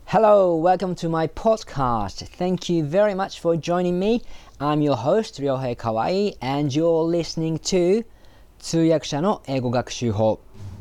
Hello, welcome to my podcast. Thank you very much for joining me. I'm your host, Ryohei Kawai, and you're listening to 通訳者の英語学習法。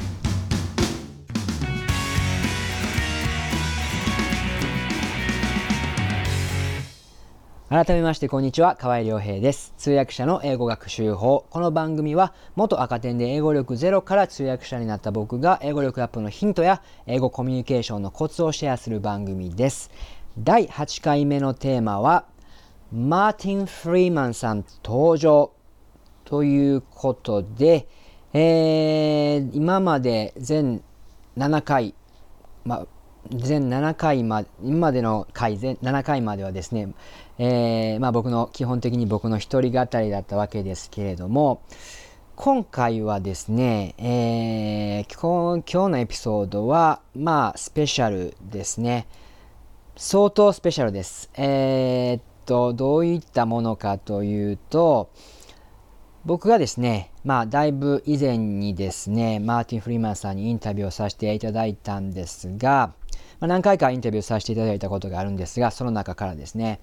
改めましてこんにちは、河合亮平です。通訳者の英語学習法。この番組は元赤点で英語力ゼロから通訳者になった僕が英語力アップのヒントや英語コミュニケーションのコツをシェアする番組です。第8回目のテーマはマーティン・フリーマンさん登場ということで、今まで全7回、全7回今までの回全7回まではですね、基本的に僕の一人語りだったわけですけれども、今回はですね、今日のエピソードはスペシャルですね。相当スペシャルです。どういったものかというと、僕がですね、だいぶ以前にですね、マーティン・フリーマンさんにインタビューをさせていただいたんですが、何回かインタビューさせていただいたことがあるんですが、その中からですね、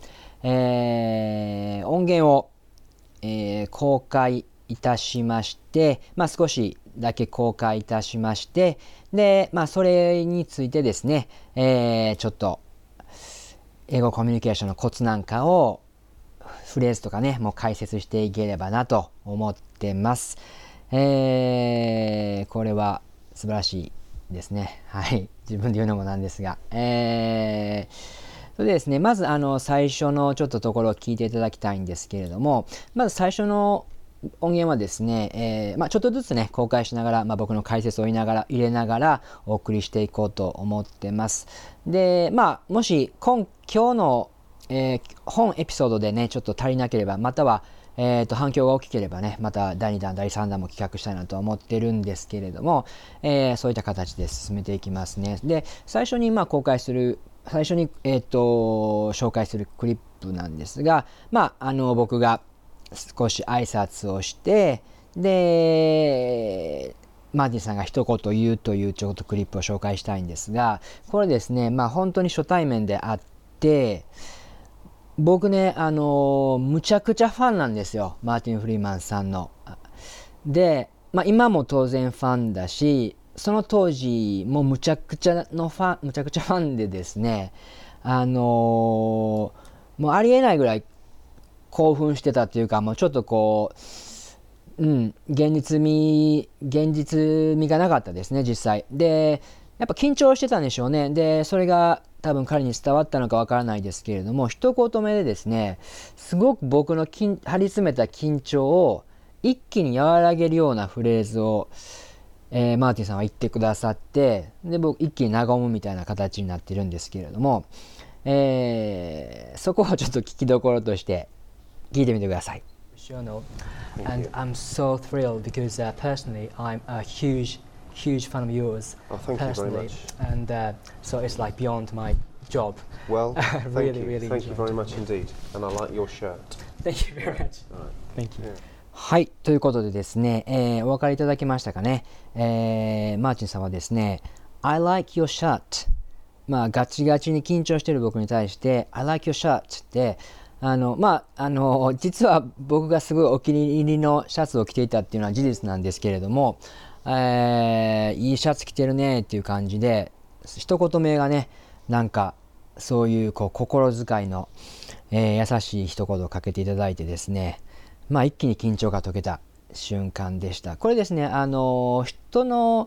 音源を、公開いたしまして、少しだけ公開いたしまして、で、それについてですね、ちょっと英語コミュニケーションのコツなんかをフレーズとかね、もう解説していければなと思ってます。これは素晴らしいですね。はい。自分で言うのもなんですが。それでですね、まず最初のちょっとところを聞いていただきたいんですけれども、まず最初の音源はですね、ちょっとずつね、公開しながら、僕の解説を入れながらお送りしていこうと思ってます。で、もし今日の本エピソードでねちょっと足りなければ、または、反響が大きければね、また第2弾第3弾も企画したいなと思ってるんですけれども、そういった形で進めていきますね。で、最初に紹介するクリップなんですが、僕が少し挨拶をして、でマーティンさんが一言言うというちょっとクリップを紹介したいんですが、これですね、本当に初対面であって、僕ね、むちゃくちゃファンなんですよ、マーティン・フリーマンさんの。で、今も当然ファンだし、その当時もむちゃくちゃファンでですね、もうありえないぐらい興奮してたっていうか、もうちょっと現実味がなかったですね、実際。で、やっぱ緊張してたんでしょうね。で、それが多分彼に伝わったのかわからないですけれども、一言目でですね、すごく僕の張り詰めた緊張を一気に和らげるようなフレーズを、マーティンさんは言ってくださって、で、僕一気に和むみたいな形になってるんですけれども、そこをちょっと聞きどころとして聞いてみてください。And I'm so thrilled because personally I'm a huge fan of yours. Thank personally. you very much. And so it's like beyond my job. Well, really, thank you. really Thank you very much indeed. And I like your shirt. Thank you very much. Thank you. はい、ということでですね、お分かりいただけましたかね。マーチンさんはですね、I like your shirt。ガチガチに緊張している僕に対して、I like your shirt って、実は僕がすごいお気に入りのシャツを着ていたっていうのは事実なんですけれども、いいシャツ着てるねっていう感じで、一言目がね、なんかそういう心遣いの、優しい一言をかけていただいてですね、一気に緊張が解けた瞬間でした。これですね、人の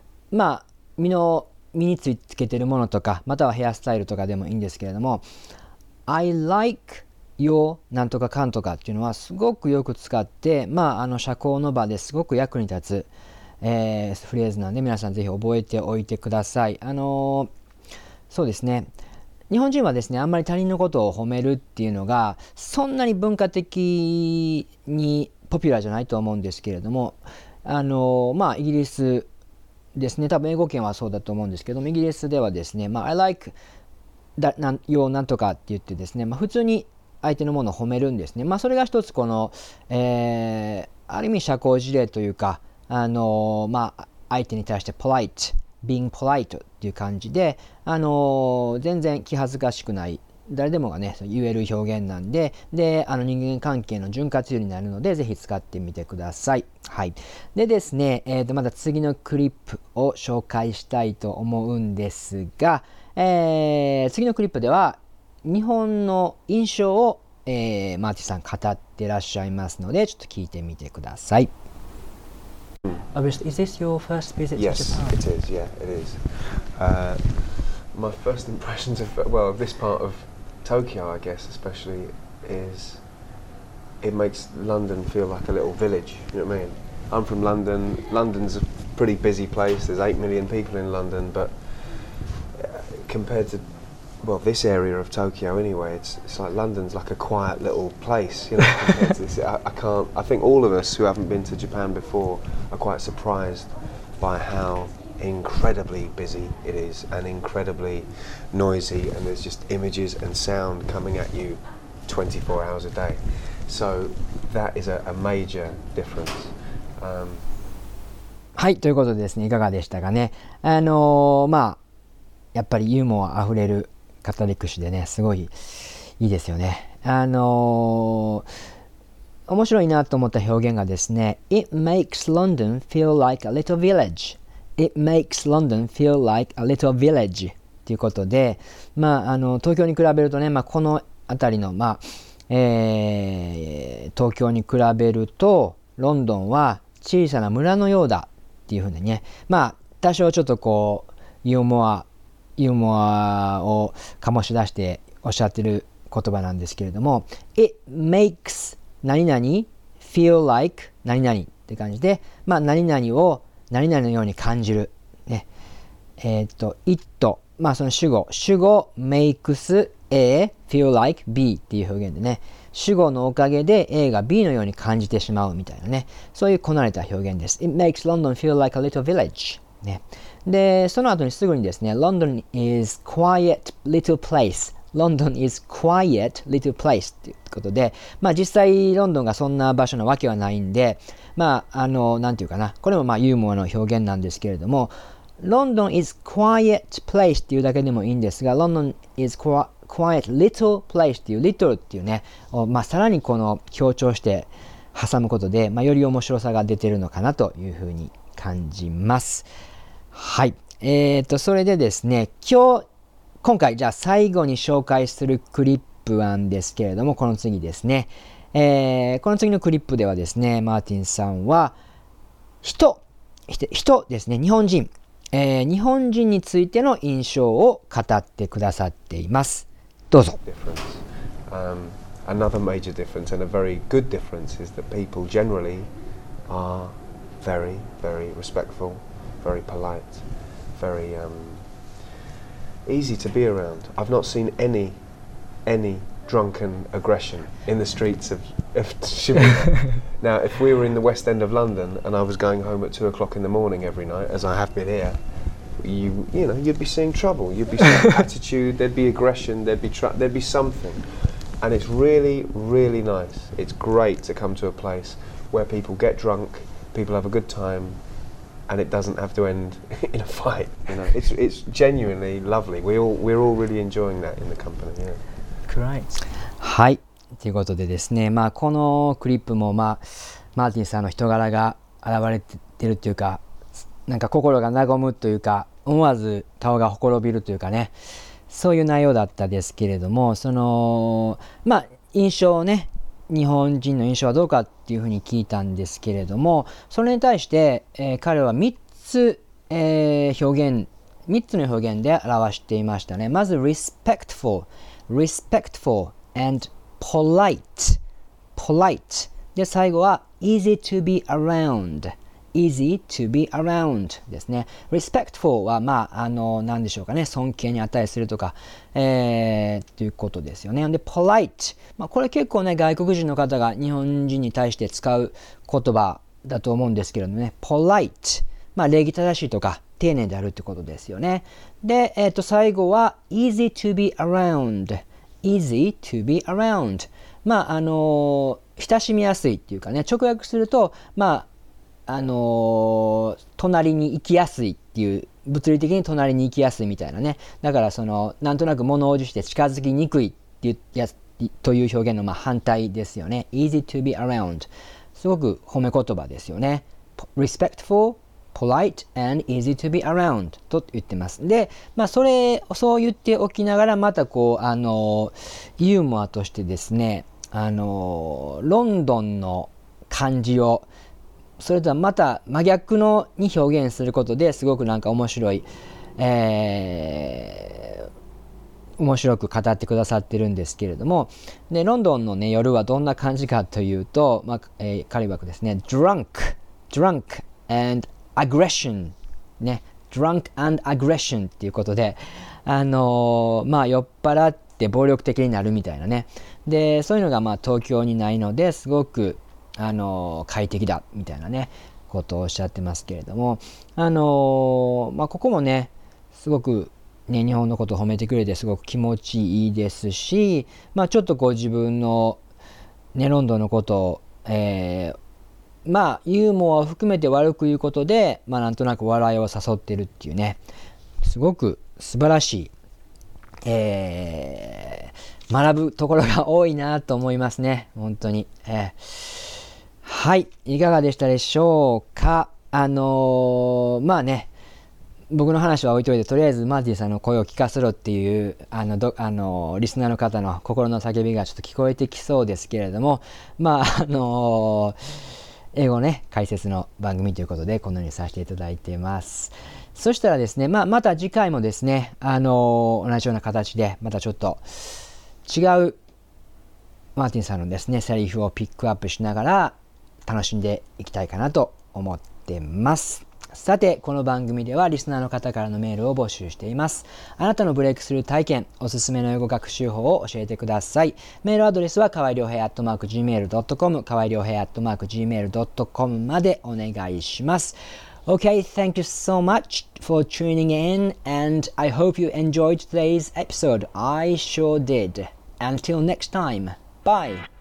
身につけてるものとか、またはヘアスタイルとかでもいいんですけれども、I like your なんとかかんとかっていうのはすごくよく使って、社交の場ですごく役に立つ、フレーズなんで、皆さんぜひ覚えておいてください。そうですね、日本人はですね、あんまり他人のことを褒めるっていうのがそんなに文化的にポピュラーじゃないと思うんですけれども、イギリスですね、多分英語圏はそうだと思うんですけども、イギリスではですね、I like your なんとかって言ってですね、普通に相手のものを褒めるんですね。それが一つこの、ある意味社交辞令というか、相手に対してポライト being polite っていう感じで、全然気恥ずかしくない、誰でもがね言える表現なんで、人間関係の潤滑油になるのでぜひ使ってみてください。はい。でですね、また次のクリップを紹介したいと思うんですが、次のクリップでは日本の印象を、マーティさん語ってらっしゃいますので、ちょっと聞いてみてください。Is this your first visit to Yes, Japan? it is. Yeah, it is. My first impressions of this part of Tokyo, I guess, especially, is it makes London feel like a little village. You know what I mean? I'm from London. London's a pretty busy place. There's 8 million people in London, but compared to this area of Tokyo anyway, it's like London's like a quiet little place, you know. Compared to this, I think all of us who haven't been to Japan before are quite surprised by how incredibly busy it is and incredibly noisy, and there's just images and sound coming at you 24 hours a day. So that is a major difference. はい、ということでですね、いかがでしたかね。やっぱりユーモアあふれる語り口でね、すごいいいですよね。面白いなと思った表現がですね、It makes London feel like a little village. It makes London feel like a little village. ということで、東京に比べるとね、この辺りの、東京に比べると、ロンドンは小さな村のようだっていうふうにね、多少ちょっとこう、ユーモアを醸し出しておっしゃってる言葉なんですけれども、 It makes 何々 feel like 何々って感じで、何々を何々のように感じる、ね、it その主語 makes A feel like B っていう表現でね、主語のおかげで A が B のように感じてしまうみたいなね、そういうこなれた表現です。 It makes London feel like a little village、ね、でその後にすぐにですね、 London is quiet little place。 London is quiet little place ということで、実際ロンドンがそんな場所なわけはないんで、なんていうかな、これもユーモアの表現なんですけれども、London is quiet place っていうだけでもいいんですが、London is quiet little place っていう little っていうね、さらにこの強調して挟むことで、より面白さが出てるのかなというふうに感じます。はい。それでですね、今回じゃあ最後に紹介するクリップなんですけれども、この次ですね。この次のクリップではですね、マーティンさんは人ですね、日本人についての印象を語ってくださっています。どうぞ。 Another major difference, and a very good difference, is that people generally are very, very respectful, very polite, very easy to be around. I've not seen any drunken aggression in the streets of Shibuya. Now, if we were in the West End of London and I was going home at 2 o'clock in the morning every night, as I have been here, you'd be seeing trouble. You'd be seeing attitude. There'd be aggression. There'd be something, and it's really, really nice. It's great to come to a place where people get drunk, people have a good time, and it doesn't have to end in a fight. You know, it's genuinely lovely. We're all really enjoying that in the company. Yeah. Great. はい。ということでですね、このクリップもマーティンさんの人柄が現れてるというか、なんか心が和むというか、思わず顔がほころびるというかね、そういう内容だったですけれども、その印象をね、日本人の印象はどうかっていうふうに聞いたんですけれども、それに対して、彼は3つの表現で表していましたね。まず respectful and polite で、最後は easy to be around ですね。respectful は何でしょうかね、尊敬に値するとか、ということですよね。で polite、これ結構ね、外国人の方が日本人に対して使う言葉だと思うんですけれどもね、polite、礼儀正しいとか丁寧であるってことですよね。で、最後は easy to be around 親しみやすいっていうかね、直訳すると隣に行きやすいっていう物理的に隣に行きやすいみたいなね。だからなんとなく物おじして近づきにくいっていうやつという表現の反対ですよね。easy to be around。すごく褒め言葉ですよね。respectful, polite, and easy to be around と言ってます。で、そう言っておきながら、またユーモアとしてですね、ロンドンの漢字をそれとはまた真逆のに表現することですごくなんか面白い、面白く語ってくださってるんですけれども、でロンドンのね夜はどんな感じかというと、彼曰くですね drunk and aggression ね drunk and aggression っていうことで酔っ払って暴力的になるみたいなね。でそういうのが東京にないのですごく快適だみたいなねことをおっしゃってますけれども、ここもねすごくね日本のことを褒めてくれてすごく気持ちいいですし、ちょっと自分のねロンドンのことを、ユーモアを含めて悪く言うことでなんとなく笑いを誘ってるっていうね、すごく素晴らしい、学ぶところが多いなと思いますね本当に。はい、いかがでしたでしょうか。僕の話は置いといて、とりあえずマーティさんの声を聞かせろっていうリスナーの方の心の叫びがちょっと聞こえてきそうですけれども、英語ね解説の番組ということでこのようにさせていただいています。そしたらですね、また次回もですね、同じような形でまたちょっと違うマーティンさんのですねセリフをピックアップしながら楽しんでいきたいかなと思ってます。さてこの番組ではリスナーの方からのメールを募集しています。あなたのブレイクスルー体験、おすすめの英語学習法を教えてください。メールアドレスはかわいりょうへい@gmail.com かわいりょうへい@gmail.com までお願いします。Okay, thank you so much for tuning in and I hope you enjoyed today's episode. I sure did. Until next time. Bye.